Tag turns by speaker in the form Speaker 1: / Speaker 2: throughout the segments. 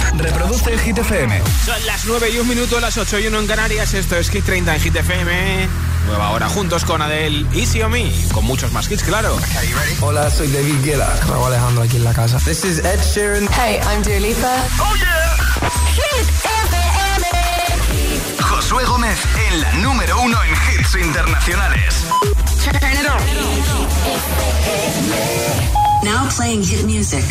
Speaker 1: Reproduce el Hit FM.
Speaker 2: Son las 9:01, las 8:01 en Canarias. Esto es Hit 30 en Hit FM. Nueva hora juntos con Adele, Easy on Me. Con muchos más hits, claro.
Speaker 3: Hola, soy David Guetta. Raúl Alejandro aquí en la casa.
Speaker 4: This is Ed Sheeran.
Speaker 5: Hey, I'm Dua Lipa.
Speaker 1: ¡Oh, yeah!
Speaker 5: Hit FM.
Speaker 1: Josué Gómez en la número 1 en hits internacionales.
Speaker 5: Turn it on.
Speaker 6: Now playing hit music.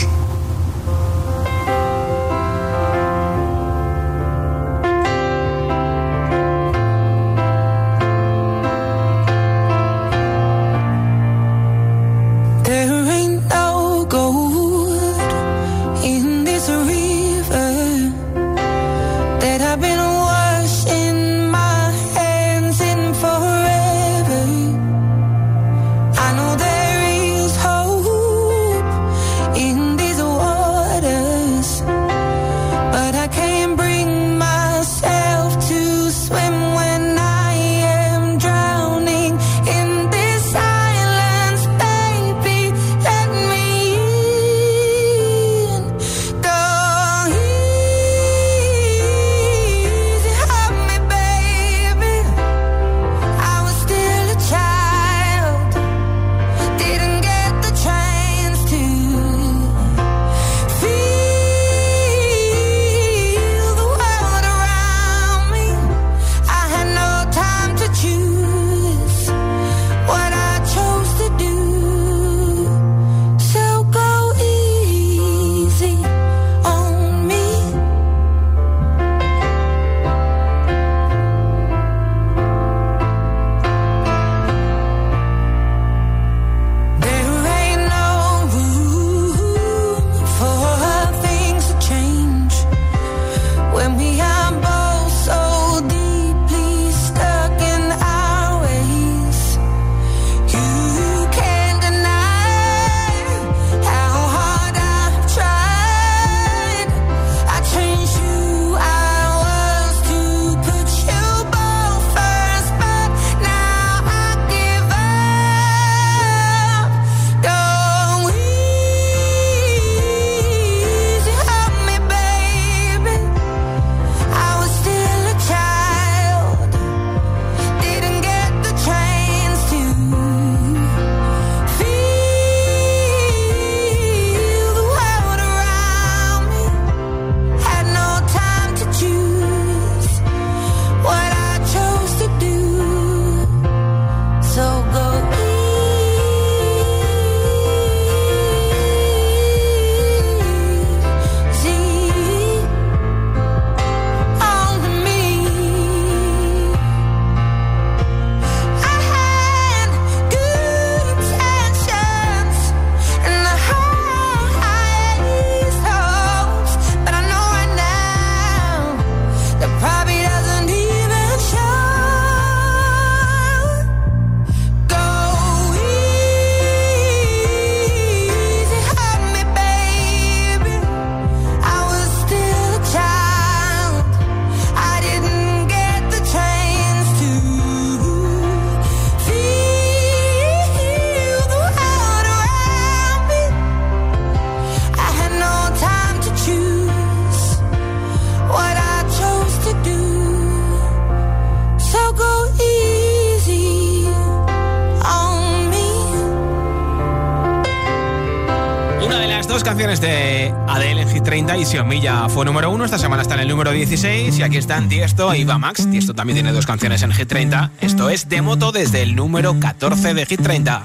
Speaker 2: Canciones de Adele en Hit 30 y Xiaomi ya fue número 1. Esta semana está en el número 16 y aquí están Tiesto e Iva Max. Tiesto también tiene 2 canciones en Hit 30. Esto es De Moto desde el número 14 de Hit 30.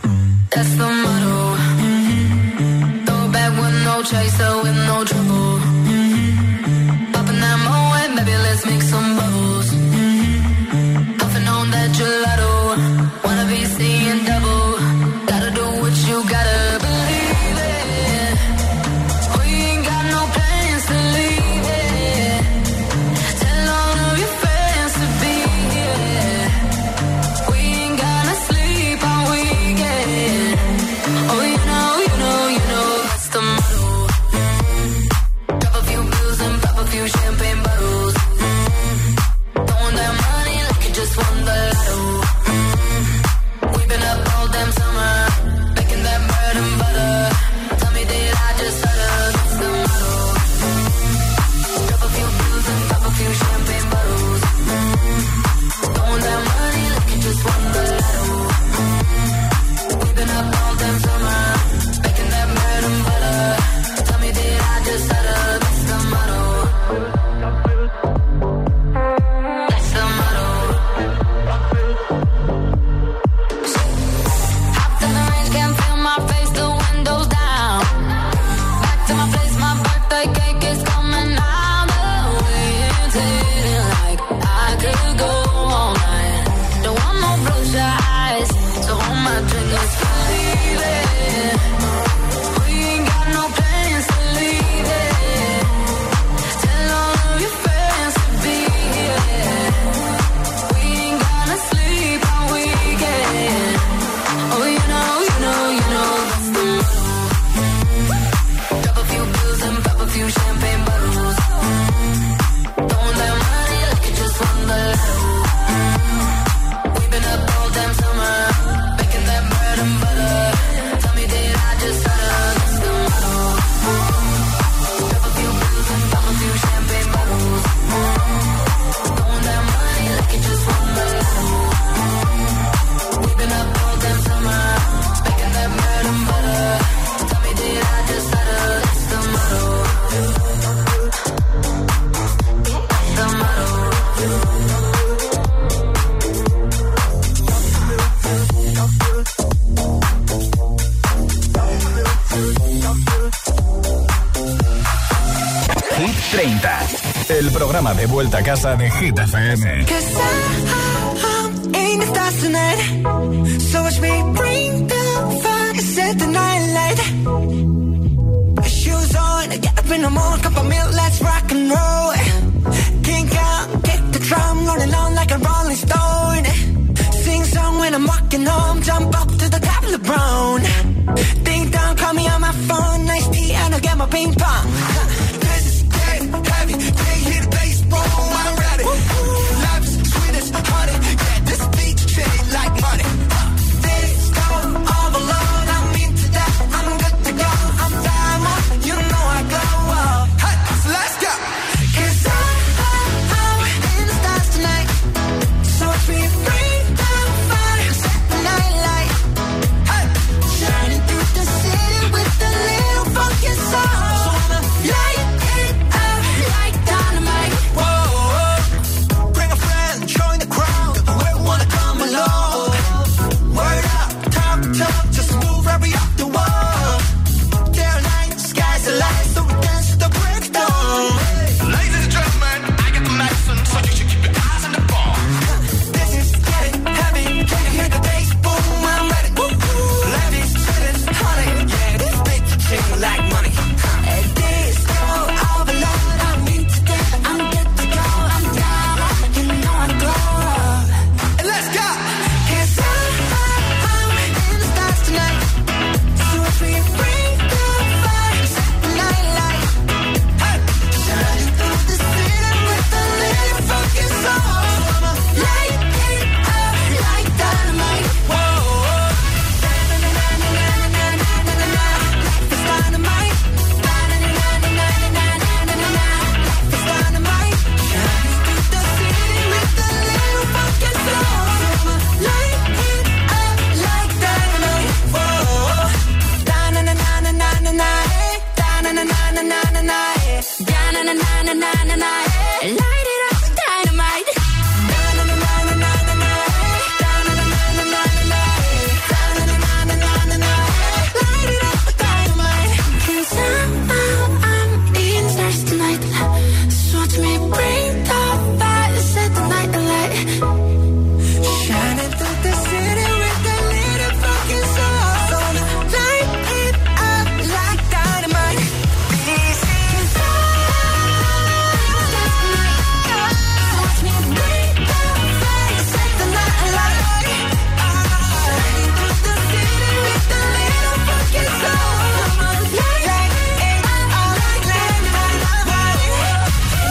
Speaker 1: 30. El programa de vuelta a casa de Hit FM.
Speaker 4: In the stars tonight, so watch me bring the fire, set the night light. Shoes on, get up in the morning, cup of milk, let's rock and roll. Kink out, get the drum, rolling on like a rolling stone. Sing song when I'm walking home, jump up to the top of the brown. Ding dong, call me on my phone, nice tea and I'll get my ping pong. This is getting heavy, can't hear the bass, boom, I'm ready. Life's sweet as honey, yeah, this beat shit like money. This go overload, I'm into that, I'm good to go, I'm diamond, you know I glow. Hey, so let's go. 'Cause I'm in the stars tonight, so if we bring the fire, set the night light. Hey, shining through the city with a little funky soul. So I'ma light it up like dynamite. Whoa, bring a friend, join the crowd. We wanna come along. Word up, talk, just move right up the wall. Day or night, sky's the light, so we dance to the break of dawn.
Speaker 1: Ladies and gentlemen, I got the medicine, so you should keep your eyes on the ball.
Speaker 4: This is getting heavy, can you hear the bass? Boom, I'm ready. Life is sweet as honey, yeah, this beat shit like money. This go overload, I'm into that, I'm good to go, I'm down, you know I glow. And let's go. 'Cause I'm in the stars tonight, so if we bring the fire, set the night light. Hey, shining through the city with a little funky soul. I'ma light it up like dynamite. Whoa, life is dynamite. Life is dynamite. Shining through the city with a little funky soul. I'ma light it up like dynamite. Whoa, da-na-na-na-na-na-na, da-na-na-na-na-na-na, da-na-na-na-na-na-na, light it up like dynamite. Da-na-na-na-na-na-na, da-na-na-na-na-na-na, da-na-na-na-na-na-na, light it up like dynamite. 'Cause I'm in the stars tonight, so watch me bring the fire, set the night alight. Shining through the city with a little fucking soul. So light it up like dynamite. This is watch me bring the fire, set the night alight. Shining through the city with a little fucking soul. Light it up like dynamite.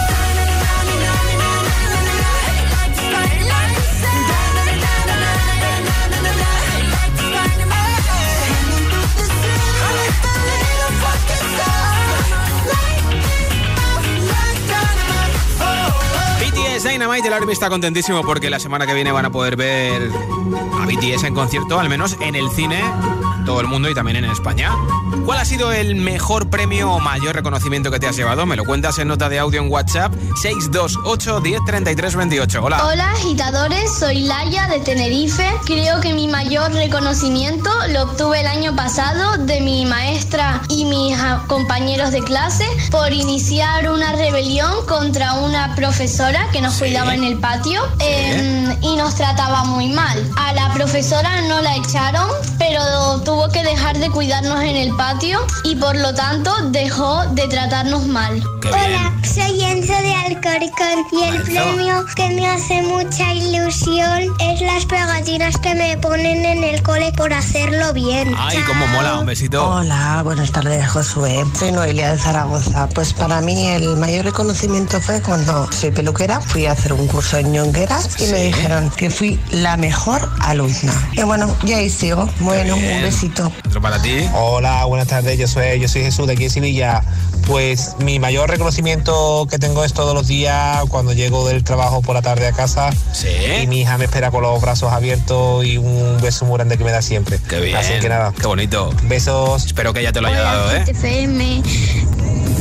Speaker 2: BTS Dynamite, el Army está contentísimo porque la semana que viene van a poder ver a BTS en concierto, al menos en el cine, todo el mundo y también en España. ¿Cuál ha sido el mejor premio o mayor reconocimiento que te has llevado? Me lo cuentas en nota de audio en WhatsApp 628 10 33 28. Hola.
Speaker 7: Hola agitadores, soy Laia de Tenerife. Creo que mi mayor reconocimiento lo obtuve el año pasado de mi maestra y mis compañeros de clase por iniciar una rebelión contra una profesora que nos cuidaba en el patio y nos trataba muy mal. A la profesora no la echaron, pero tuvo que dejar de cuidarnos en el patio y por lo tanto dejó de tratarnos mal.
Speaker 8: Hola, soy Enzo de Alcorcón y el premio que me hace mucha ilusión es las pegatinas que me ponen en el cole por hacerlo bien.
Speaker 2: Ay, cómo mola, un besito.
Speaker 9: Hola, buenas tardes, Josué. Soy Noelia de Zaragoza. Pues para mí el mayor reconocimiento fue cuando soy peluquera, fui a hacer un curso en Ñongueras y me dijeron que fui la mejor alumna. Y bueno, ya ahí sigo. Bueno, un besito.
Speaker 2: Otro para ti.
Speaker 10: Hola, buenas tardes, yo soy Jesús de aquí en Sevilla. Pues mi mayor reconocimiento que tengo es todos los días cuando llego del trabajo por la tarde a casa y mi hija me espera con los brazos abiertos y un beso muy grande que me da siempre.
Speaker 2: Qué bien.
Speaker 10: Así que nada.
Speaker 2: Qué bonito.
Speaker 10: Besos.
Speaker 2: Espero que ella te lo haya dado,
Speaker 7: FM.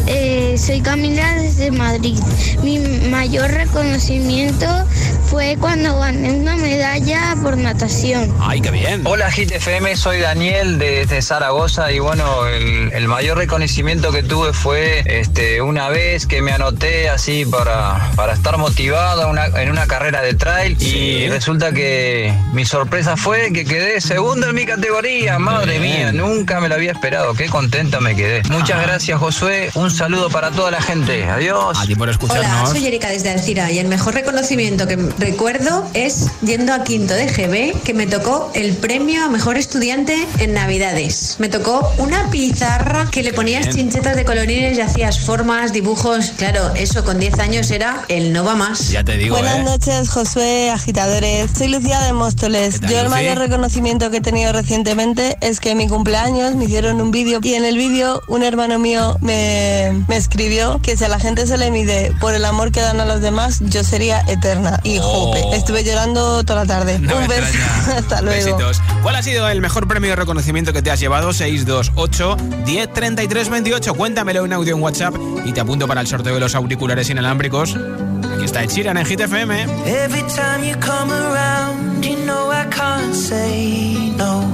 Speaker 8: Soy Camila desde Madrid. Mi mayor reconocimiento fue cuando gané una medalla por natación.
Speaker 2: ¡Ay, qué bien!
Speaker 11: Hola, Hit FM, soy Daniel desde Zaragoza y bueno, el mayor reconocimiento que tuve fue una vez que me anoté así para estar motivado en una carrera de trail y resulta que mi sorpresa fue que quedé segundo en mi categoría. Madre mía, nunca me lo había esperado, qué contento me quedé. Muchas gracias, Josué, un saludo para toda la gente, adiós.
Speaker 2: A ti por escucharnos.
Speaker 12: Hola, soy Erika desde Alcira y el mejor reconocimiento que recuerdo es yendo a quinto de GB, que me tocó el premio a mejor estudiante en Navidades. Me tocó una pizarra que le ponías chinchetas de colorines y hacías formas, dibujos. Claro, eso con 10 años era el no va más.
Speaker 2: Ya te digo.
Speaker 13: Buenas noches, Josué, agitadores. Soy Lucía de Móstoles. Yo el mayor reconocimiento que he tenido recientemente es que en mi cumpleaños me hicieron un vídeo y en el vídeo un hermano mío me escribió que si a la gente se le mide por el amor que dan a los demás, yo sería eterna. Y jope, estuve llorando toda la tarde. Un beso, hasta luego.
Speaker 2: Besitos. ¿Cuál ha sido el mejor premio de reconocimiento que te has llevado? 628 10 33 28. Cuéntamelo en audio en WhatsApp y te apunto para el sorteo de los auriculares inalámbricos. Aquí está Ed Sheeran en Hit FM.
Speaker 4: Every time you come around, you know I can't say no.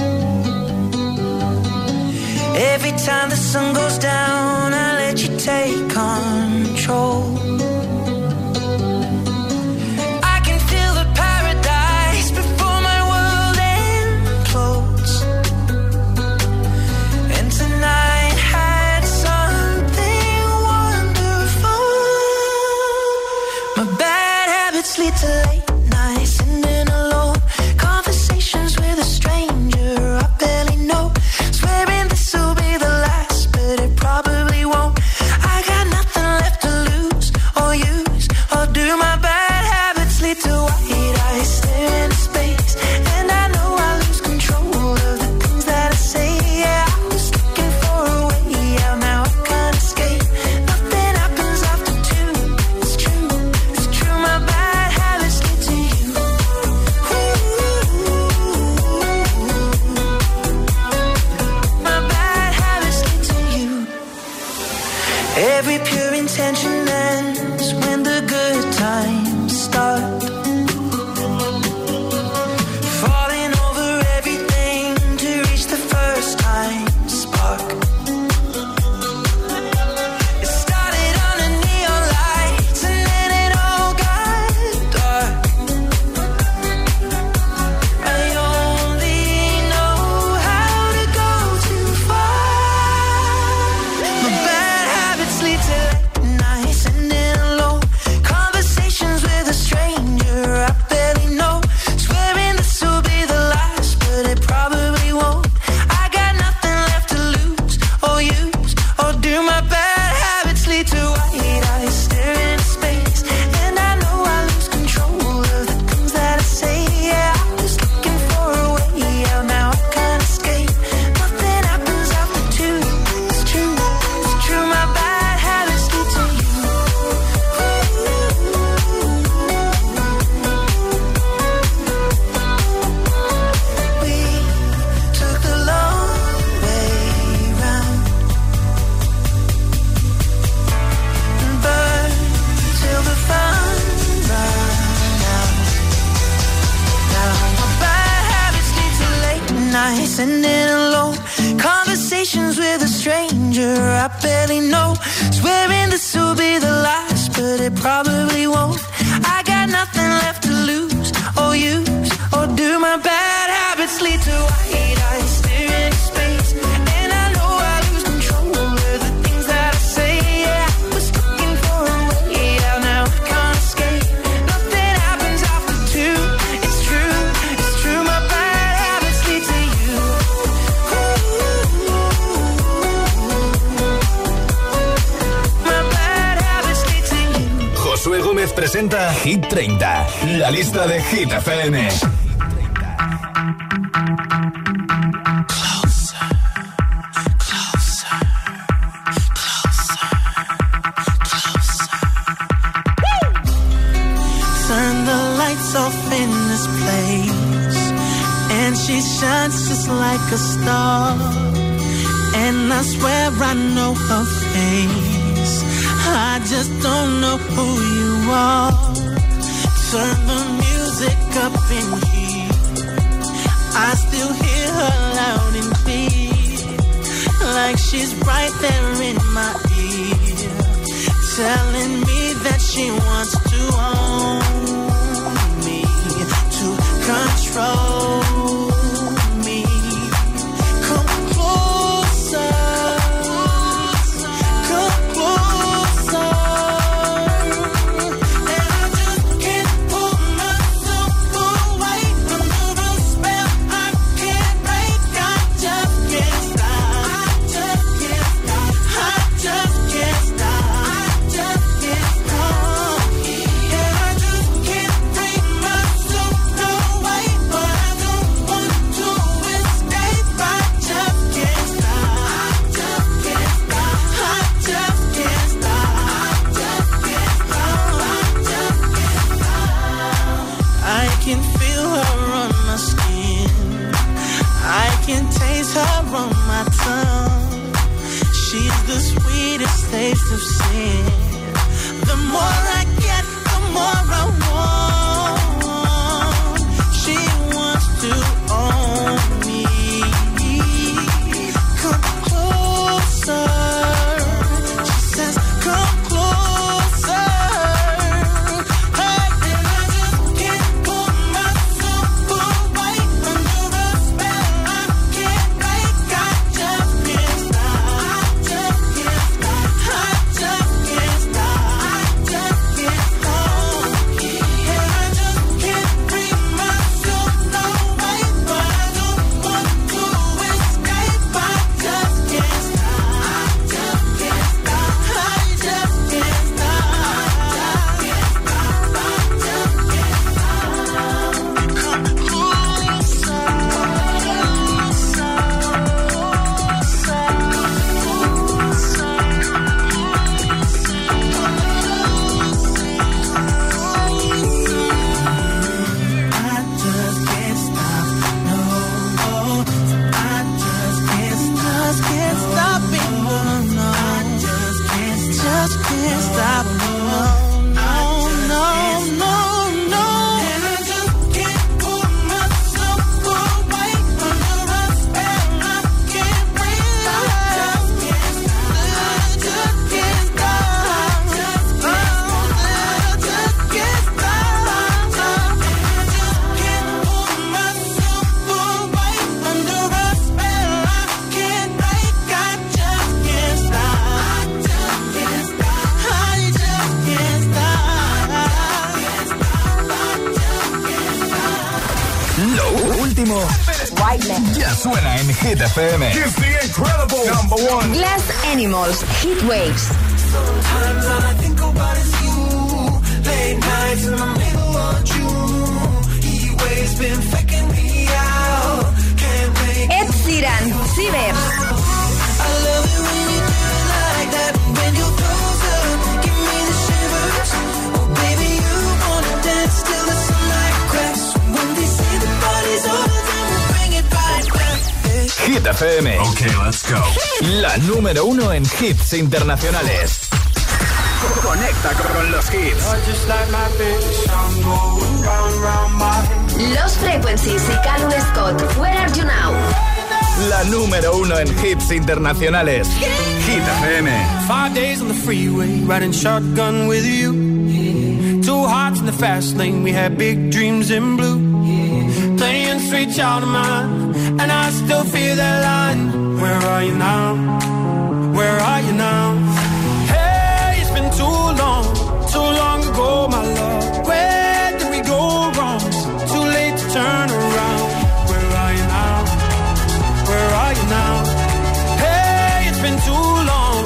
Speaker 4: Every time the sun goes down, I let you take control. I can feel the paradise before my world implodes. And tonight had something wonderful. My bad habits lead to late nights, sitting alone. Conversations with a stranger I barely know. Swearing this will be the last, but it probably won't. I got nothing left to lose or use or do. My bad habits lead to white eyes staring into space, and I know I lose control of the things that I say. Yeah, I was looking for a way out, now I can't escape. Nothing happens after two. It's true. My bad habits lead to you. My bad habits lead to you. Every pure intention ends when the good times start. Falling over everything to reach the first time spark. It started under neon lights and then it all got dark. I only know how to go too far. My bad habits lead to late nights and then alone. Conversations with a stranger I barely know. Swearing this will be the last, but it probably won't. I got nothing left to lose or use or do. My bad habits lead to white eyes staring into space, and I know I lose control of the things that I say. Yeah, I was looking for a way out, now I can't escape. Nothing happens after two. It's true. My bad habits lead to you. We took the long way round and burned till the fun ran out. Now my bad habits lead to late nights and then alone. Conversations with a stranger I barely know. Swearing this will be the last, but it probably won't. I got nothing left to lose or use or do. My bad habits lead to white eyes staring into space, and I know I lose control of the things that I say. Yeah, I was looking for a way out, now I can't escape. Nothing happens after two. It's true. My bad habits lead to you. My bad habits lead to you.
Speaker 1: Josué Gómez presenta Hit 30, la lista de Hit FM.
Speaker 4: Turn the lights off in this place, and she shines just like a star. And I swear I know her face. I just don't know who you are. Turn the music up in here. I still hear her loud and clear, like she's right there in my ear, telling me that she wants to own me, to control me. Come closer, come closer. And I just can't pull myself away under a spell I can't break. I just can't stop. I just can't stop. I just can't stop. I just can't stop. And I just can't bring myself away, but I don't want to escape. I just can't stop. I just can't stop. I just can't stop. I just can't stop. I just can't stop. I can feel her on my skin. I can taste her on my tongue. She's the sweetest taste of sin. The more I get, the more I want. She wants to own me. Come closer. She says, come closer. Hey, and I just can't pull myself away under a spell I can't break. I just can't stop. I just can't stop. I just can't stop. I just can't stop. And I just can't bring myself away, but I don't want to escape. I just can't stop. I just can't stop. I just can't stop. Come closer. I just can't stop, no. I just can't stop it, no. I just can't stop, no, no, no. And I just can't pull myself away under a spell I can't break. I just can't stop. I just can't stop. I just can't stop. And I just can't pull myself away under a spell I can't break. I just can't stop. I just can't stop. I just can't stop.
Speaker 1: Lo último ya suena en Hit FM.
Speaker 14: It's the incredible #1.
Speaker 5: Glass Animals, Heat Waves.
Speaker 4: Sometimes all I think about is you. Late nights in the middle of June. Heat waves been faking me out. Can't make
Speaker 5: Ed Sheeran, Cibers.
Speaker 4: I love it when you do it like that. When you're closer, give me the shivers. Oh baby, you wanna dance till the sunlight cracks. When they say the party's over, then we'll bring it right back.
Speaker 1: Hit FM.
Speaker 14: Okay, let's go.
Speaker 1: La número 1 en hits internacionales. Conecta con los hits.
Speaker 4: Just like my baby song going round, round my head.
Speaker 5: Los Frequencies y Callum Scott, Where Are You Now?
Speaker 1: La número 1 en hits internacionales. Hit FM.
Speaker 4: 5 days on the freeway, riding shotgun with you. Two hearts in the fast lane, we had big dreams in blue. Playing sweet child of mine, and I still feel that line. Where are you now? Where are you now? Hey, it's been too long ago, my love. Where did we go wrong? Too late to turn around. Where are you now? Where are you now? Hey, it's been too long.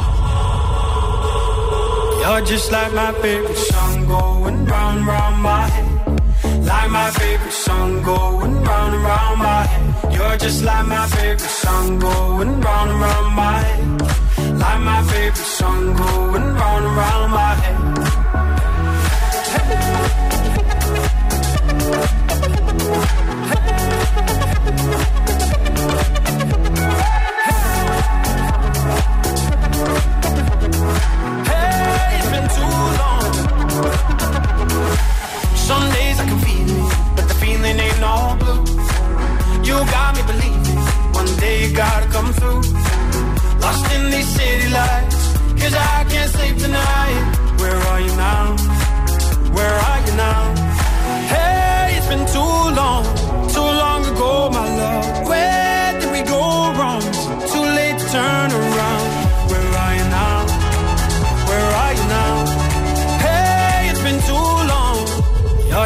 Speaker 4: You're just like my favorite song going round, round my head. Like my favorite song going round and round my head. You're just like my favorite song going round and round my head. Like my favorite song going round and round my head.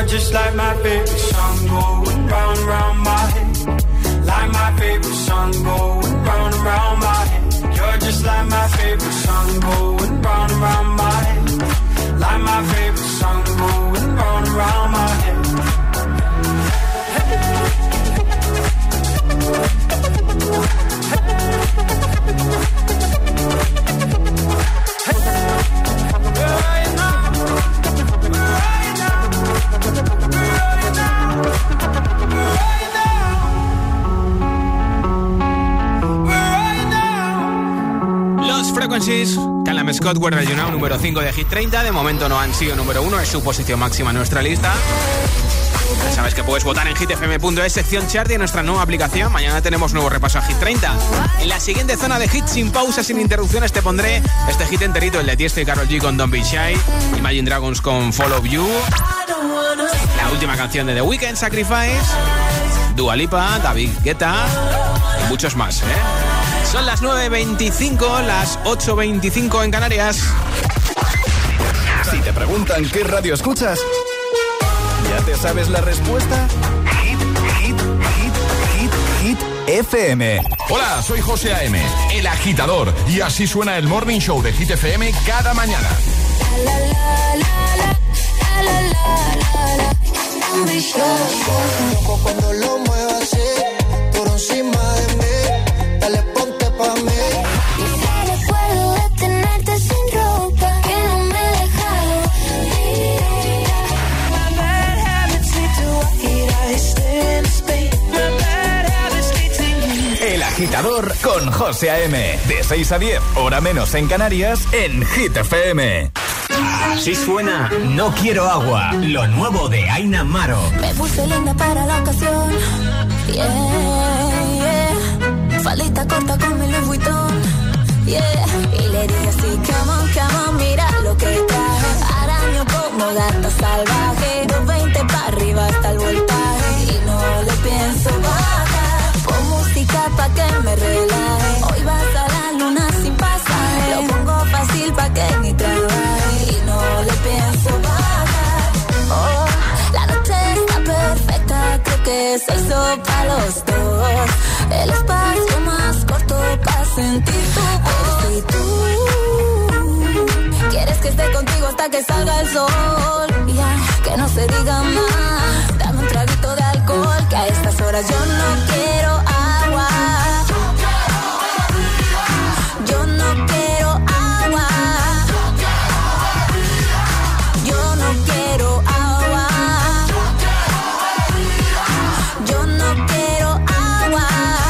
Speaker 15: just like my favorite song going round and round my head. Like my favorite song going round and round my head. You're just like my favorite song going round and round my head. Like my favorite song going round and round my head.
Speaker 2: Frequencies, Callum Scott, Where Are You Now, número 5 de Hit 30. De momento no han sido número 1, es su posición máxima en nuestra lista. Ya sabes que puedes votar en hitfm.es, sección chart, y en nuestra nueva aplicación. Mañana tenemos nuevo repaso a Hit 30. En la siguiente zona de hits, sin pausas, sin interrupciones, te pondré este hit enterito, el de Tiesto y Karol G con Don't Be Shy, Imagine Dragons con Follow You, la última canción de The Weeknd, Sacrifice, Dua Lipa, David Guetta y muchos más, Son las 9:25, las 8:25 en Canarias.
Speaker 1: Si te preguntan qué radio escuchas, ¿ya te sabes la respuesta? Hit FM.
Speaker 14: Hola, soy José A.M., el agitador, y así suena el Morning Show de Hit FM cada mañana.
Speaker 4: Cuando lo muevas así, por encima de mí, dale ponte pa' mí. Y si recuerdo de tenerte sin ropa, que no me he dejado ir. My bad habits lead to what I stay in space. My bad habits lead to you.
Speaker 1: El agitador con José A.M. De 6 a 10, hora menos en Canarias, en Hit FM.
Speaker 16: Así suena No Quiero Agua, lo nuevo de Aina Maro.
Speaker 17: Me puse linda para la ocasión, yeah, yeah. Falita corta con mi Louis Vuitton, yeah. Y le dije así, come on, mira lo que traje. Araño como gata salvaje, 220 para arriba hasta el voltaje. Y no le pienso bajar, pon música pa' que me relaje. Hoy vas a la luna sin pasaje, lo pongo fácil pa' que ni trabaje. No le pienso bajar. Oh, la noche está perfecta, creo que se hizo para los dos. El espacio más corto para sentir tu voz. Y tú quieres que esté contigo hasta que salga el sol. Yeah, que no se diga más. Dame un traguito de alcohol, que a estas horas yo no quiero agua. Yo no quiero agua. Quiero agua. Yo no quiero agua.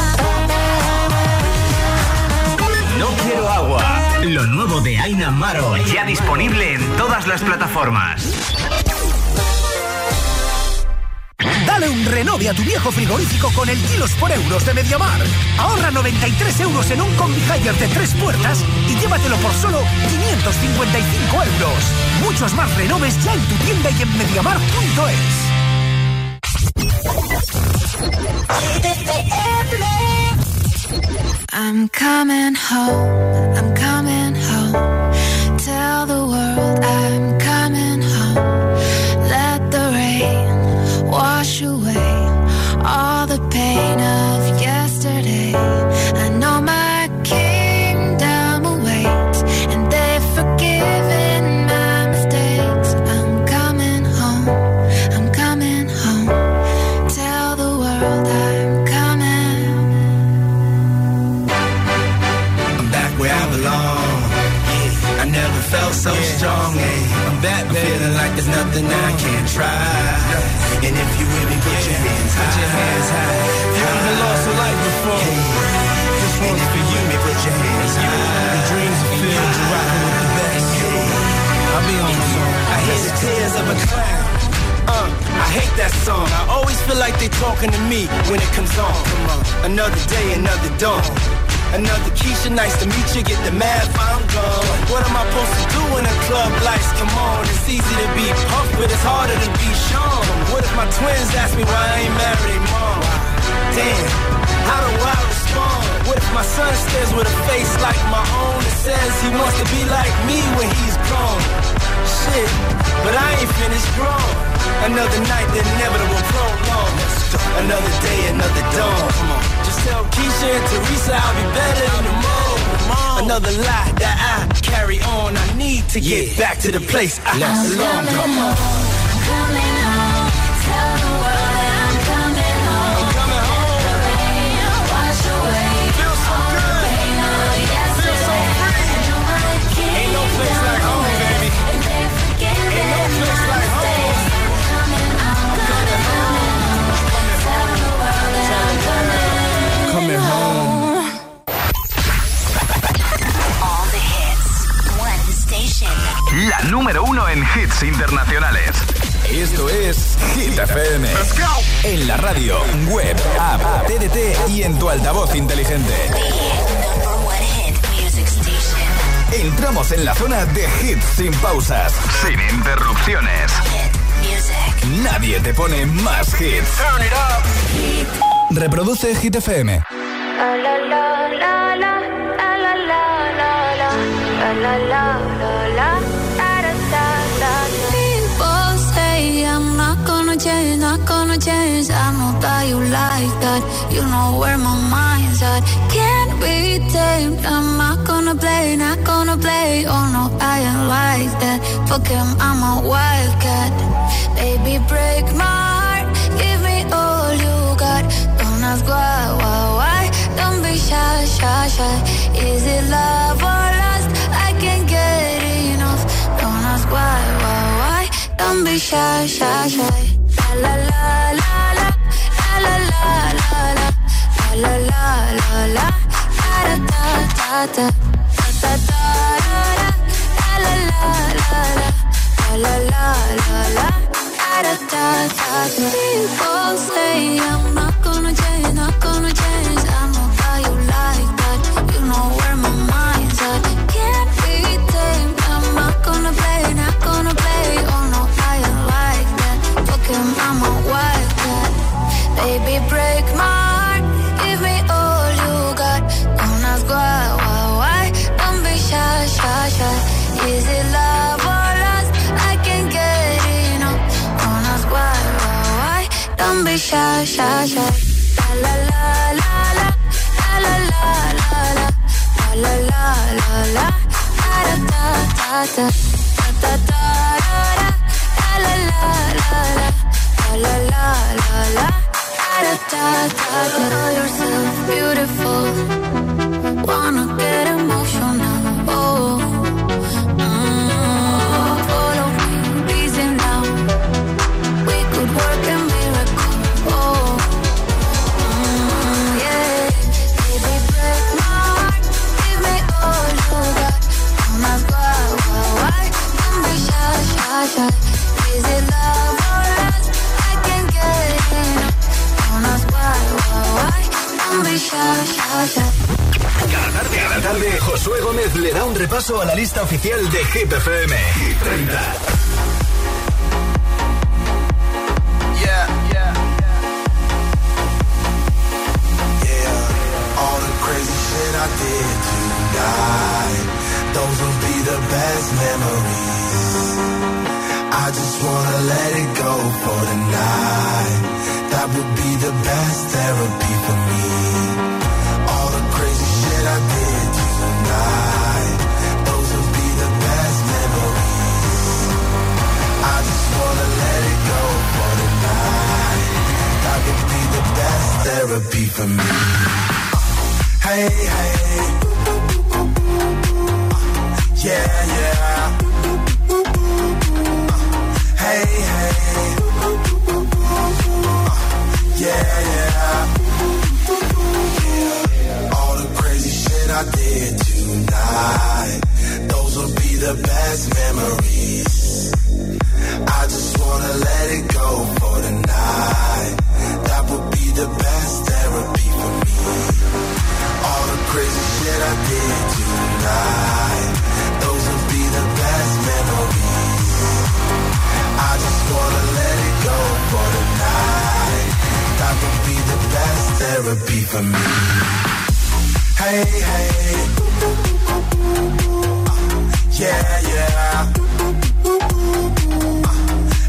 Speaker 16: No Quiero Agua, lo nuevo de Aina Maro, ya disponible en todas las plataformas.
Speaker 18: Dale un renove a tu viejo frigorífico con el kilos por euros de Mediamar. Ahorra 93 euros en un combi Haier de 3 puertas y llévatelo por solo 555 euros. Muchos más renoves ya en tu tienda y en mediamar.es.
Speaker 17: I'm coming home. Tell the world I'm coming home. Let the rain wash away all the pain of yesterday. I know my kingdom awaits, and they've forgiven my mistakes. I'm coming home. Tell the world I'm coming.
Speaker 19: I'm back where I belong. I never felt so strong. I'm back, feeling like there's nothing I can't try. And if you with me, put your hands high. Put your hands high. You haven't lost a life before. This one's for you. Put your hands high. The dreams are filled. You're rocking with the best. I'll be on the song. I hear the tears of a clown. I hate that song. I always feel like they talking to me when it comes on. Another day, another dawn. Another Keisha, nice to meet you. Get the math, I'm gone. What am I supposed to do when the club lights come on? It's easy to be pumped, but it's harder to be Sean. What if my twins ask me why I ain't married mom? Damn, how do I respond? What if my son stares with a face like my own and says he wants to be like me when he's gone? Shit, but I ain't finished grown. Another night, the inevitable prolong. Another day, another dawn. Just tell Keisha and Teresa I'll be better in the morning. Another lie that I carry on. I need to get back to the place I belong. Come on.
Speaker 17: Coming home, tell the world that I'm coming home.
Speaker 19: I'm coming home.
Speaker 17: Let the rain wash away
Speaker 19: Feel so
Speaker 17: all
Speaker 19: good.
Speaker 17: the pain of yesterday.
Speaker 19: Feel so free.
Speaker 17: And you're my kingdom.
Speaker 19: Ain't no place like home, baby.
Speaker 17: And they forget
Speaker 19: Ain't no place like home.
Speaker 17: Coming home, coming home. Tell the world that I'm coming home.
Speaker 6: All the hits. One station.
Speaker 16: La número 1 en hits internacionales.
Speaker 1: Esto es Hit FM. En la radio, web, app, TDT y en tu altavoz inteligente.
Speaker 6: Number one hit music station.
Speaker 1: Entramos en la zona de hits sin pausas,
Speaker 16: Sin interrupciones.
Speaker 6: Hit music.
Speaker 1: nadie te pone más hits.
Speaker 19: Turn it up.
Speaker 1: Reproduce Hit FM.
Speaker 7: La la la la la la la la la la la la la la.
Speaker 17: People say I'm not gonna change, not gonna change. I know that you like that. You know where my mind's at. Can't be tamed. I'm not gonna play, not gonna play. Oh no, I ain't like that. Fuck him, I'm a wildcat. Baby, break my heart. Give me all you got. Don't ask why. Don't be shy, shy, shy. Is it love or lust? I can't get enough. Don't ask why. Don't be shy, shy, shy. La la la la la la la la la la la la da da da da da da la la la la la la la da da da. People say I'm not gonna change, not gonna change. I know how you like that. You know where my mind's at. Can't be tamed. I'm not gonna play, not gonna play. Oh no, I ain't like that. Fuck him, I'm a wildcat. Baby, break my heart. Give me all you got. Don't ask why. Don't be shy, shy, shy. Is it love or lust? I can't get enough. Don't ask why. Don't be shy, shy, shy. La la la la la la la la la la la la da da da da da da la la la la la la la da da da. Know yourself beautiful. Wanna get emotional. Oh, follow me, easy now. We could work a miracle. Oh, yeah. Baby, break my heart. Give me all you got. Don't ask why. Don't be shy, shy, shy. Is it love or lust? I can't get enough. Don't ask why. Don't be shy, shy, shy.
Speaker 1: Cada tarde, Josué Gómez le da un repaso a la lista oficial de Hit FM. Hit 30.
Speaker 19: Yeah. All the crazy shit I did tonight, those will be the best memories. I just wanna let it go for the night. That would be the best therapy for me. All the crazy shit I did tonight, those will be the best memories. I just wanna let it go for the night. That would be the best therapy for me. Hey, hey. Yeah, yeah. Hey, hey. Yeah, yeah. All the crazy shit I did tonight, those will be the best memories. I just wanna let it go for the night. That would be the best therapy for me. All the crazy shit I did tonight, those will be the best memories. I just wanna let it go for the night. That would be the best therapy for me. Hey, hey. Yeah, yeah.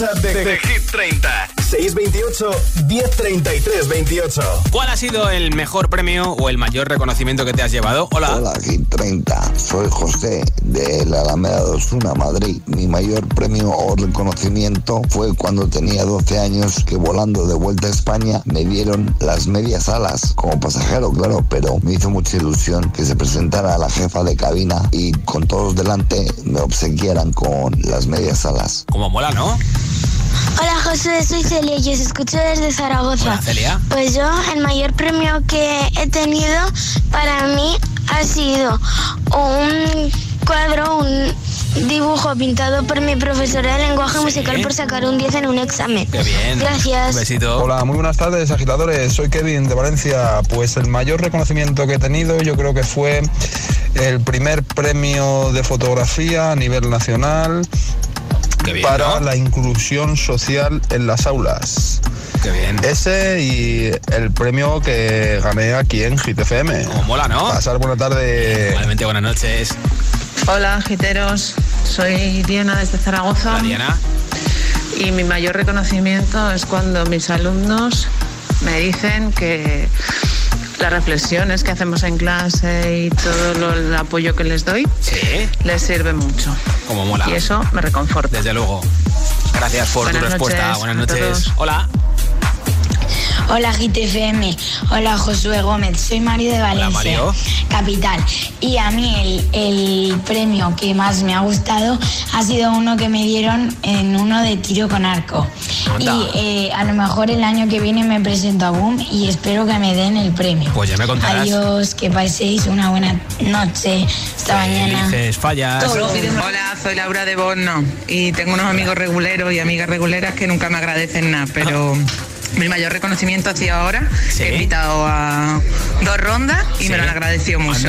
Speaker 1: WhatsApp de Hit 30. 628 1033 28.
Speaker 2: ¿Cuál ha sido el mejor premio o el mayor reconocimiento que te has llevado? Hola.
Speaker 20: Hola, Hit 30. Soy José de la Alameda de Osuna, Madrid. Mi mayor premio o reconocimiento fue cuando tenía 12 años, que volando de vuelta a España me dieron las medias alas como pasajero, claro, pero me hizo mucha ilusión que se presentara la jefa de cabina y con todos delante me obsequiaran con las medias alas.
Speaker 2: Como mola, ¿no?
Speaker 8: Hola José, soy Celia y os escucho desde Zaragoza.
Speaker 2: Hola, Celia.
Speaker 8: Pues yo, el mayor premio que he tenido para mí ha sido un cuadro, un dibujo pintado por mi profesora de lenguaje musical por sacar un 10 en un examen.
Speaker 2: Qué bien.
Speaker 8: Gracias.
Speaker 2: Un besito.
Speaker 21: Hola, muy buenas tardes, agitadores. Soy Kevin de Valencia. Pues el mayor reconocimiento que he tenido yo creo que fue el primer premio de fotografía a nivel nacional.
Speaker 2: Qué bien,
Speaker 21: para
Speaker 2: ¿no?
Speaker 21: la inclusión social en las aulas.
Speaker 2: Qué bien.
Speaker 21: Ese y el premio que gané aquí en Hit FM.
Speaker 2: Como mola, ¿no?
Speaker 21: Pasar buena tarde.
Speaker 2: Igualmente, buenas noches.
Speaker 22: Hola, giteros. Soy Diana desde Zaragoza.
Speaker 2: Hola, Diana.
Speaker 22: Y mi mayor reconocimiento es cuando mis alumnos me dicen que las reflexiones que hacemos en clase y todo el apoyo que les doy les sirve mucho.
Speaker 2: Como mola.
Speaker 22: Y eso me reconforta.
Speaker 2: Desde luego. Gracias por tu respuesta. Buenas noches. Hola.
Speaker 23: Hola Hit FM, hola Josué Gómez, soy Mario de Valencia,
Speaker 2: hola, Mario.
Speaker 23: Capital. Y a mí el premio que más me ha gustado ha sido uno que me dieron en uno de tiro con arco.
Speaker 2: Anda.
Speaker 23: Y a lo mejor el año que viene me presento a Boom y espero que me den el premio.
Speaker 2: Pues ya me contarás.
Speaker 23: Adiós, que paséis una buena noche. Hasta mañana.
Speaker 2: Dices, fallas.
Speaker 22: Hola, soy Laura de Borno y tengo unos amigos reguleros y amigas reguleras que nunca me agradecen nada, pero... Mi mayor reconocimiento ha sido ahora, que he invitado a 2 rondas y me lo han agradecido mucho.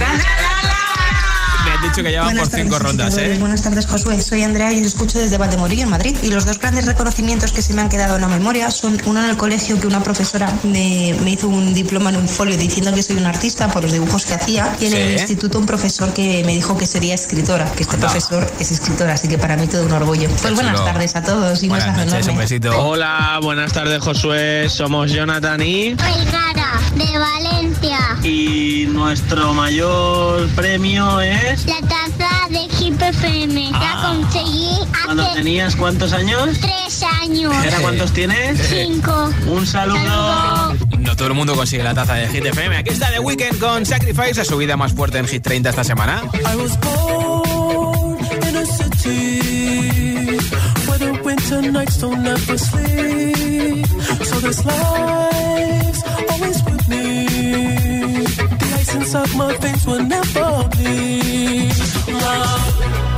Speaker 2: Me han dicho que llevan por 5 rondas, ¿eh?
Speaker 24: Buenas tardes, Josué. Soy Andrea y os escucho desde Valdemorillo, en Madrid. Y los 2 grandes reconocimientos que se me han quedado en la memoria son uno en el colegio, que una profesora me hizo un diploma en un folio diciendo que soy una artista por los dibujos que hacía. Y en el instituto un profesor que me dijo que sería escritora, que este profesor es escritor, así que para mí todo un orgullo. Pues buenas tardes a todos y
Speaker 2: buenas noches, un besito.
Speaker 25: Hola, buenas tardes, Josué. Somos Jonathan y...
Speaker 8: Vergara, de Valencia.
Speaker 25: Y nuestro mayor premio es...
Speaker 8: La taza de Hit FM. La conseguí hace...
Speaker 25: ¿Cuándo tenías cuántos años?
Speaker 8: 3 años.
Speaker 25: ¿Ahora cuántos tienes?
Speaker 8: 5.
Speaker 25: Un saludo.
Speaker 2: No todo el mundo consigue la taza de Hit FM. Aquí está The Weeknd con Sacrifice, la subida más fuerte en Hit 30 esta semana.
Speaker 4: I was born in a city where the winter nights don't ever sleep. So this life's always with me. The ice inside my veins will never bleed. Love.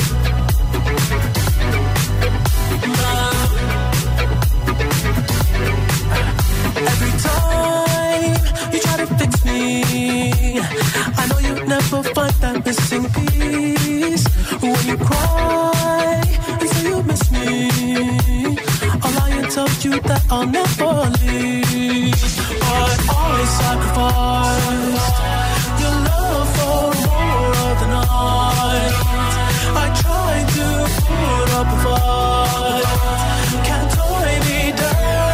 Speaker 4: Every time you try to fix me, I know you'll never find that missing piece. When you cry and say you miss me, I'll lie and tell you that I'll never leave. But always sacrifice your love for more of the night. I try to put up a fight, can't tie me down.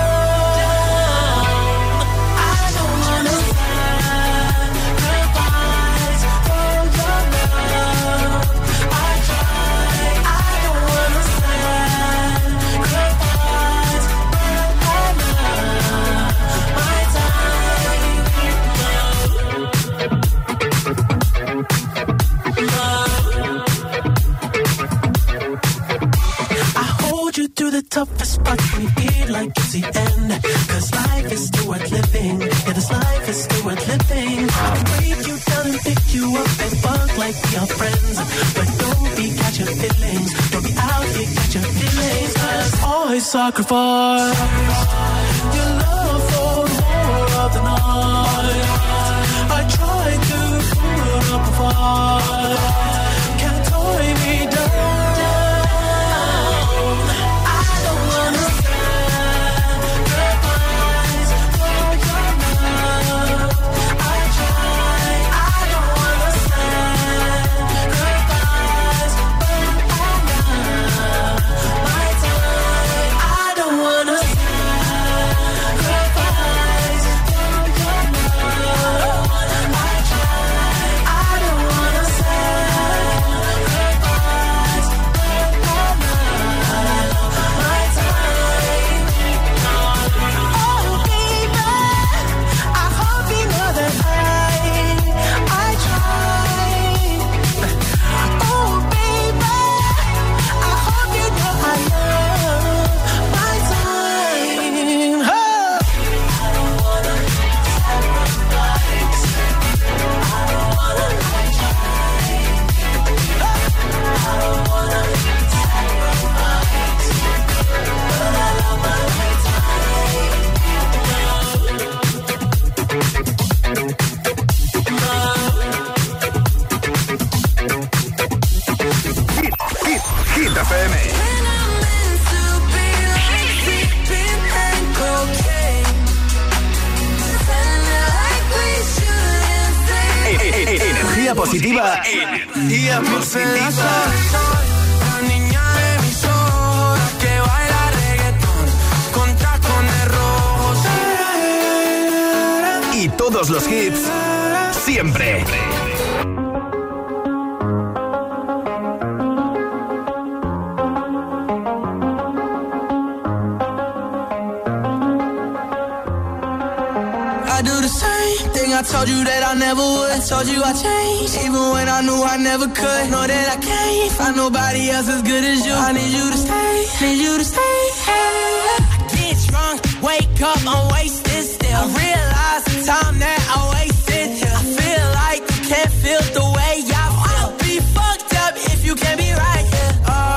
Speaker 4: The toughest part when you feel like it's the end. Cause life is still worth living. Yeah, this life is still worth living. I can break you down and pick you up and fuck like we are friends. But don't be catching feelings. Don't be out here catching feelings. Cause always sacrifice your love for more of the night. I try to put up a fight, can't tie me down.
Speaker 16: energía positiva.
Speaker 4: Energía positiva. La niña de mis ojos que baila reggaetón con tacones rojos.
Speaker 16: Y todos los hits siempre.
Speaker 4: I told you that I never would. I told you I changed, even when I knew I never could. Know that I can't find nobody else as good as you. I need you to stay, need you to stay. I get drunk, wake up, I'm wasted still. I realize the time that I wasted here. I feel like you can't feel the way I feel. I'll be fucked up if you can't be right here.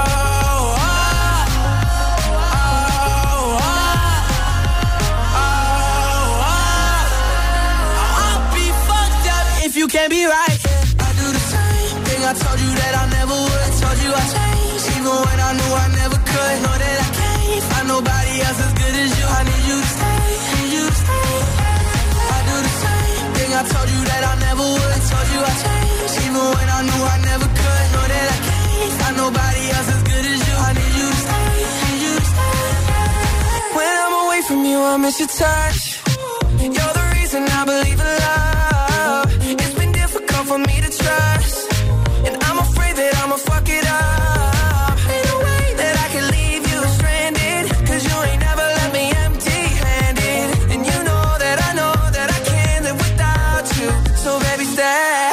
Speaker 4: You can't be right. I do the same thing. I told you that I never would. I told you I changed, even when I knew I never could. Know that I can't find nobody else as good as you. I need you to stay, need you to stay. I do the same thing. I told you that I never would. I told you I changed, even when I knew I never could. Know that I can't find nobody else as good as you. I need you to stay, need you to stay. When I'm away from you, I miss your touch. You're the reason I believe in love. For me to trust, and I'm afraid that I'ma fuck it up. Ain't no way that I can leave you stranded, 'cause you ain't never let me empty-handed. And you know that I can't live without you. So baby, stay.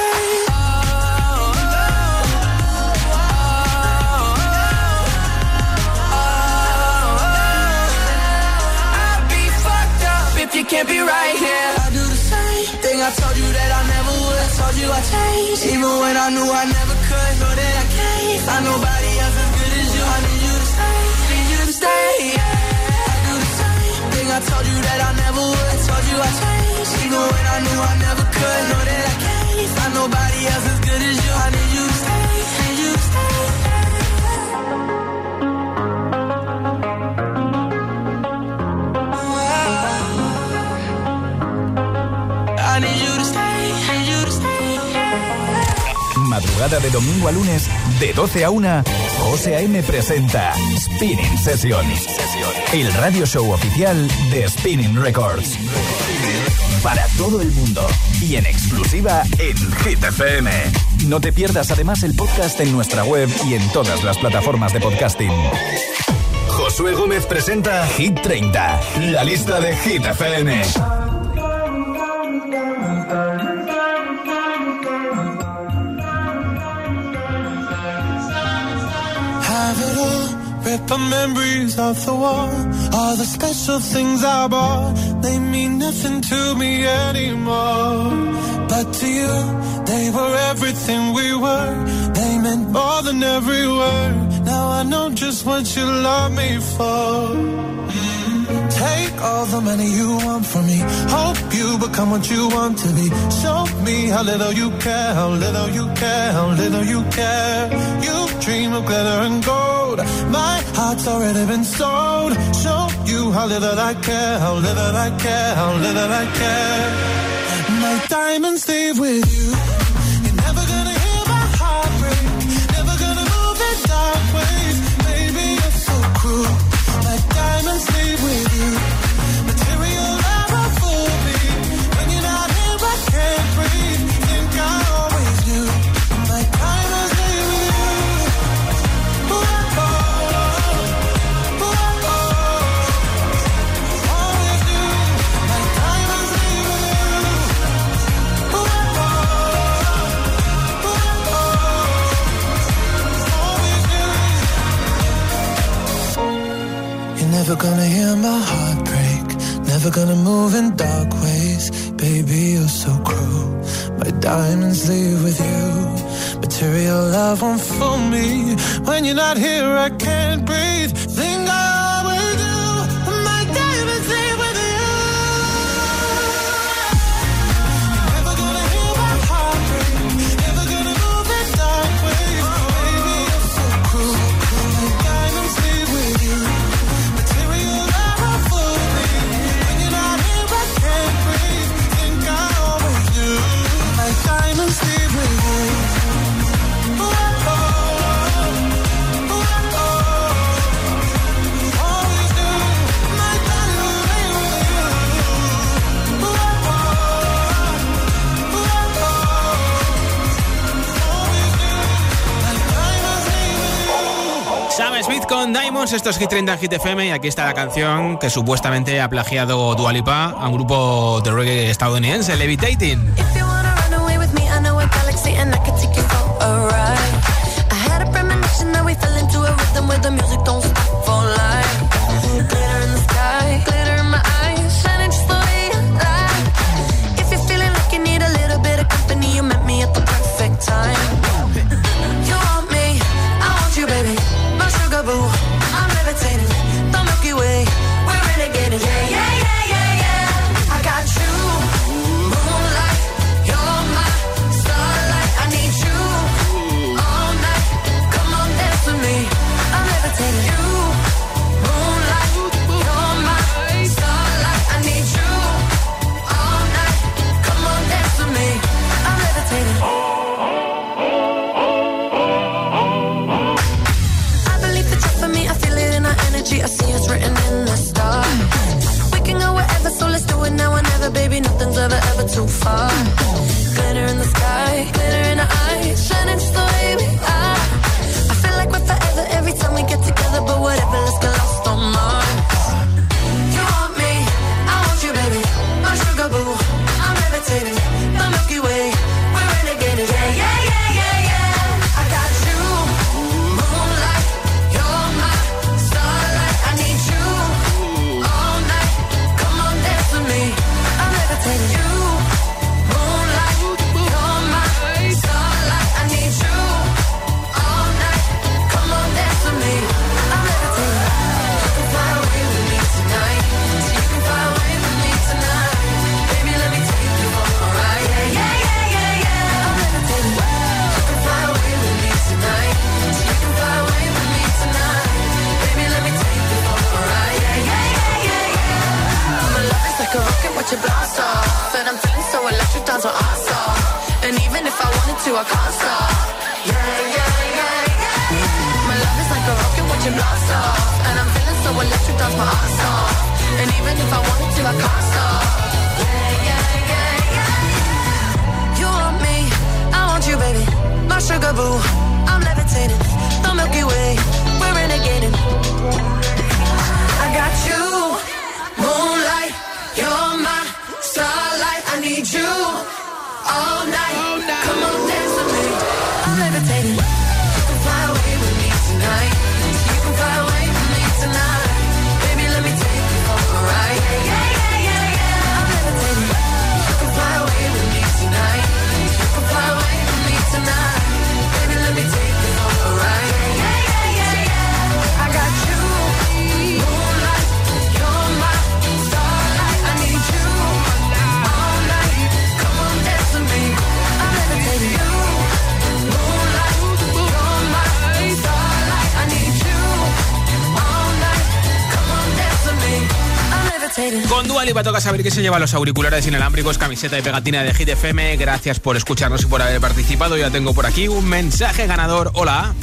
Speaker 4: I'll be fucked up if you can't be right here. I do the same thing. I told you that I never would. I told you I changed, even when I knew I never could. Know that I can't find nobody else as good as you. I need you to stay, need you to stay. Yeah. I do the same thing. I told you that I never would. I told you I changed, even when I knew I never could. Know that I can't find nobody else as good as you. I need you to stay, need you to stay. I need you to stay.
Speaker 1: Madrugada de domingo a lunes, de 12 a 1, José A.M. presenta Spinning Sessions, el radio show oficial de Spinning Records. Para todo el mundo y en exclusiva en Hit FM. No te pierdas además el podcast en nuestra web y en todas las plataformas de podcasting. Josué Gómez presenta Hit 30, la lista de Hit FM.
Speaker 4: Rip the memories of the war. All the special things I bought, they mean nothing to me anymore. But to you, they were everything we were. They meant more than every word. Now I know just what you love me for. Take all the money you want from me. Hope you become what you want to be. Show me how little you care, how little you care, how little you care. You dream of glitter and gold. My heart's already been sold. Show you how little I care, how little I care, how little I care. My diamonds leave with you. You're never gonna hear my heart break. Never gonna move in dark ways. Baby, you're so cruel. My diamonds leave with you. Material never fooled me. When you're not here, I can't breathe. Think I always knew. My diamonds leave with you. Ooh, oh, ooh, oh, always knew. My diamonds leave with you. Ooh, oh, always knew. You're never gonna hear my heart break. Never gonna move in dark ways. Baby, you're so cruel. My diamonds leave with you. Material love won't fool me. When you're not here, I can't breathe. Think I always do. My diamonds leave with you. Never gonna hear my heart break. Never gonna move in dark ways. Baby, you're so cruel. My diamonds leave with you. Material love won't fool me. When you're not here, I can't breathe. Think I always do. My diamonds leave with you.
Speaker 2: con Diamonds, esto es Hit 30 en Hit FM y aquí está la canción que supuestamente ha plagiado Dua Lipa a un grupo de reggae estadounidense, Levitating.
Speaker 4: I'm levitating, the Milky Way, we're renegading, yeah, yeah, yeah, yeah, yeah. I got you, moonlight, you're my starlight. I need you all night, come on dance with me. I'm levitating, you, moonlight, you're my starlight. I need you all night, come on dance with me. I'm levitating. I see it's written in the stars. We can go wherever, so let's do it now or never. Baby, nothing's ever, ever too far. Glitter in the sky, glitter in the eyes, shining just the way we are. I feel like we're forever every time we get together, but whatever, let's get lost on Mars. You want me, I want you, baby, my sugar boo. I'm levitating, the Milky Way, we're renegading, yeah, yeah, yeah, yeah, yeah. I got you, moonlight, you're my starlight. I need you all night, come on dance with me. I'm levitating, you, moonlight, you're my starlight. I need you all night, come on dance with me. I'm levitating. You can fly away with me tonight, so you can fly away with me tonight. Baby, let me take you for a ride, yeah, yeah, yeah, yeah, yeah. I'm levitating. You can fly away with me tonight, so you can fly away with me tonight. Baby, let me take you for a ride, yeah, yeah, yeah, yeah, yeah. My love is like a rocket, watch it blast off, and I'm feeling so electric, dance my ass off. And even if I wanted to, I can't stop. Yeah, yeah, yeah, yeah. My love is like a rocket, watch it blast off, and I'm feeling so electric, dance my ass off. And even if I wanted to, I can't stop. Yeah, yeah, yeah, yeah. You want me, I want you, baby, my sugar boo. I'm levitating, the Milky Way, we're renegading. I got you, moonlight, you're my starlight. I need you all night, come on dance with me. I'm levitating. You can fly away with me tonight, you can fly away with me tonight. Baby, let me take you for a ride, yeah, yeah, yeah, yeah, yeah. I'm levitating. You can fly away with me tonight, you can fly away with me tonight. Baby, let me take you for a ride, yeah, yeah, yeah, yeah. I got you, moonlight, you're my starlight. I need you all night, come on dance with me. I'm levitating. You, moonlight, you're my starlight. I need you all night, come on dance with me. I'm levitating.
Speaker 2: Con Dua Lipa toca saber que se lleva los auriculares inalámbricos, camiseta y pegatina de Hit FM. Gracias por escucharnos y por haber participado. Ya tengo por aquí un mensaje ganador. Hola.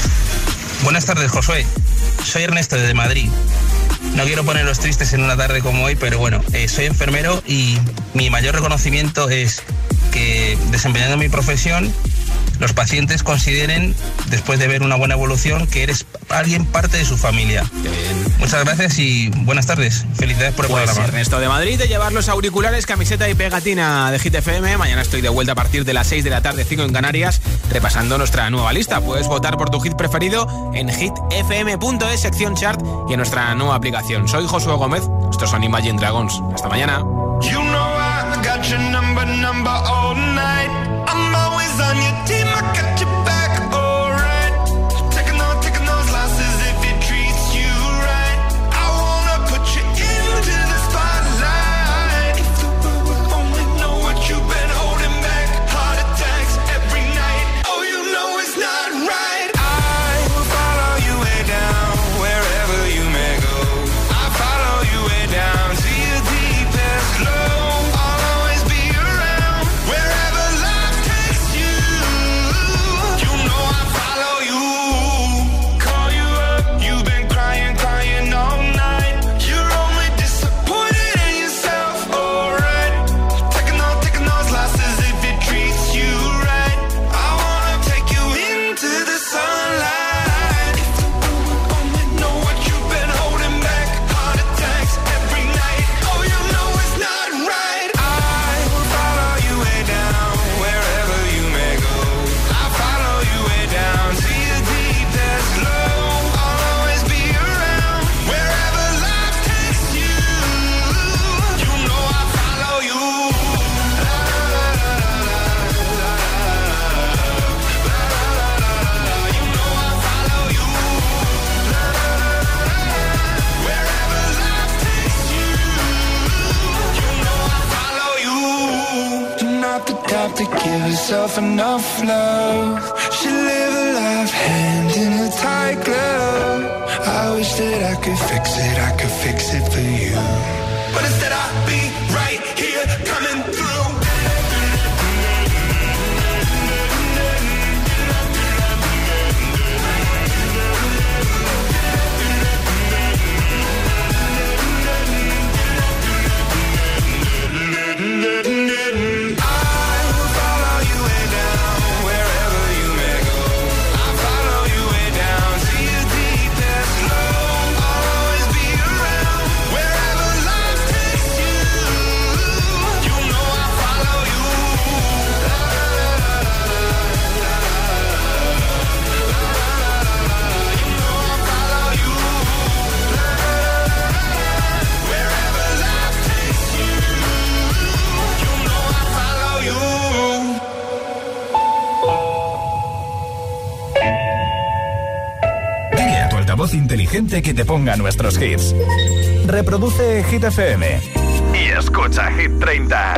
Speaker 3: Buenas tardes, Josué. Soy Ernesto desde Madrid. No quiero ponerlos tristes en una tarde como hoy, pero bueno, soy enfermero y mi mayor reconocimiento es que desempeñando mi profesión, los pacientes consideren, después de ver una buena evolución, que eres alguien parte de su familia. Muchas gracias y buenas tardes. Felicidades por el programa.
Speaker 2: Ernesto de Madrid, de llevar los auriculares, camiseta y pegatina de Hit FM. Mañana estoy de vuelta a partir de las 6 de la tarde, 5 en Canarias, repasando nuestra nueva lista. Puedes votar por tu hit preferido en hitfm.es, sección chart, y en nuestra nueva aplicación. Soy Josué Gómez, estos son Imagine Dragons. Hasta mañana.
Speaker 15: You know I got your number all night. I'm always on your team, I got your back, alright. Taking those losses if it treats you right. I wanna put you into the spotlight. If the world would only know what you've been holding back. Heart attacks every night. Oh, you know it's not right. I will follow you way down, wherever you may go. I follow you way down to your deepest low. I'll always be around wherever stop to give herself enough love. She live a life hand in a tight glove. I wish that I could fix it for you. But instead I'll be right here coming through.
Speaker 1: Inteligente que te ponga nuestros hits. Reproduce Hit FM y escucha Hit 30.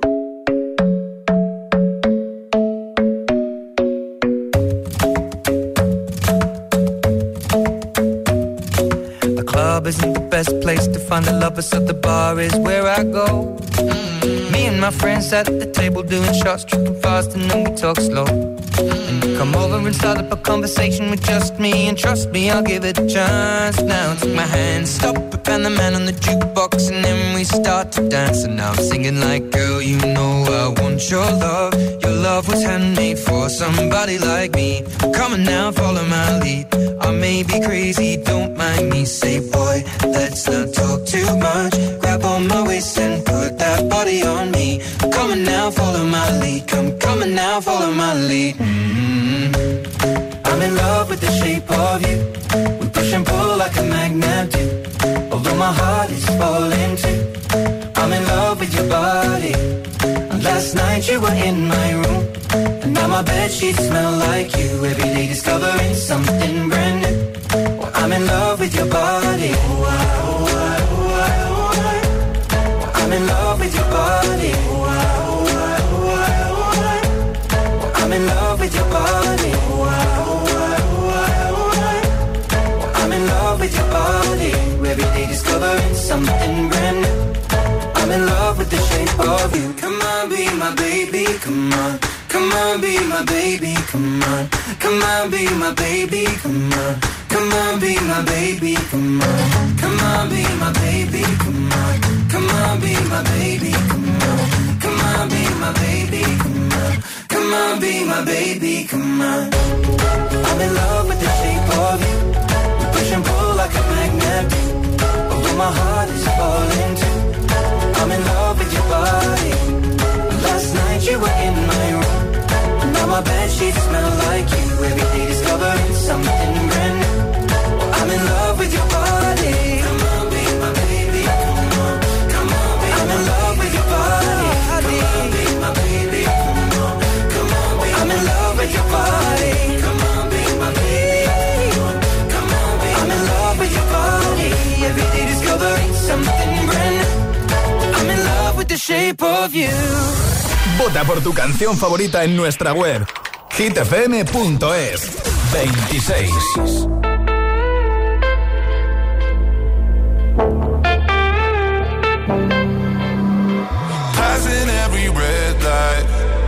Speaker 9: The club isn't the best place to find the lovers, so the bar is where I go. Me and my friends at the table doing shots, tripping fast, and then we talk slow. Come over and start up a conversation with just me, and trust me, I'll give it a chance. Now take my hand, stop it, and the man on the jukebox, and then we start to dance. And now I'm singing like, girl, you know I want your love. Your love was handmade for somebody like me. Come on now, follow my lead. I may be crazy, don't mind me. Say, boy, let's not talk too much. Grab on my waist and put that body on me. Come on now, follow my lead. Come on now, follow my lead. I'm in love with the shape of you. We push and pull like a magnet do. Although my heart is falling too. I'm in love with your body. And last night you were in my room, and now my bedsheets smell like you. Every day discovering something brand new. Well, I'm in love with your body. Oh, I, oh, I, oh, I, oh, I. Well, I'm in love with your body. Oh, I, oh, I, oh, I, oh, I. Well, I'm in love with your body. Oh, I, with your body, every day discovering something brand new. I'm in love with the shape of you. Come on, be my baby, come on. Come on, be my baby, come on. Come on, be my baby, come on. Come on, be my baby, come on. Come on, be my baby, come on. Come on, be my baby, come on. Come on, be my baby, come on. Come on, be my baby, come on. I'm in love with the shape of you. Push and pull like a magnet. Although my heart is falling too. I'm in love with your body. Last night you were in my room, and now my bedsheets smell like you. Every day discovering something brand new. Well, I'm in love with your body. Come on, be my baby. Come on, come on, be I'm in love with your body. Come on, be my baby. Come on, come on, be I'm in love with your body. Come on, be my baby. I'm in love with your body. Every day discovering something brand new. I'm in love with the shape of you.
Speaker 1: Vota por tu canción favorita en nuestra web hitfm.es. 26.
Speaker 15: Passing every red light.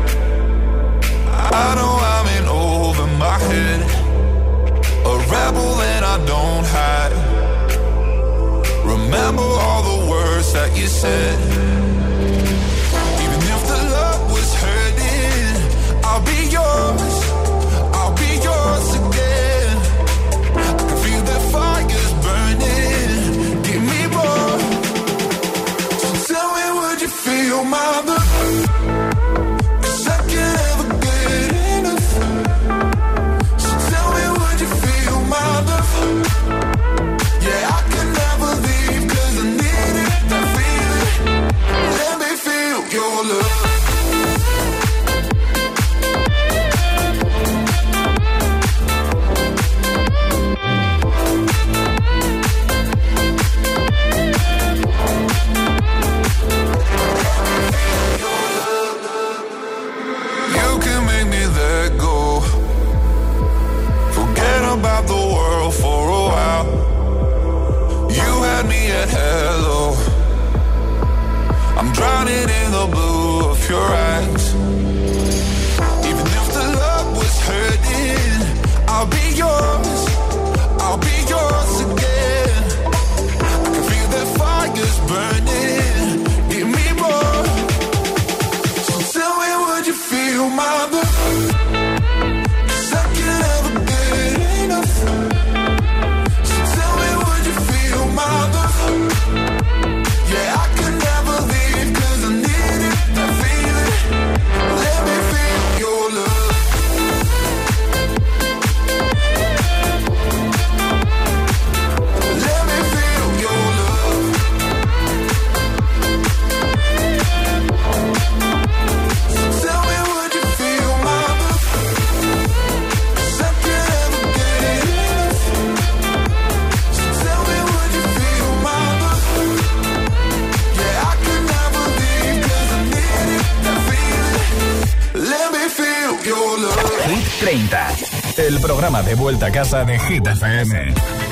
Speaker 15: I know I'm in over my head. A rebel and I don't hide. Remember all the words that you said. Even if the love was hurting, I'll be yours. I'll be yours again. I can feel the fires burning. Give me more. So tell me, would you feel my love? 'Cause I can't ever get enough. So tell me, would you feel my love? Yeah, I can never leave 'cause I need it, that feeling. Let me feel your love.
Speaker 5: in the blue of your eyes. Even if the love was hurting, I'll be yours again. I can feel that fire's burning, give me more. So tell me, would you feel my love? 'Cause I can never get enough. So tell me, would you feel my love? Yeah, I could never leave 'cause I need it, that feeling. Let me feel your love. Let me feel your love. So tell me, would you feel my love? 'Cause I can't ever get enough. So tell me, would you feel my love? Yeah, I could never leave 'cause I need it, that feeling. Let me feel your love.
Speaker 1: Hit 30, el programa de vuelta a casa de Hit FM.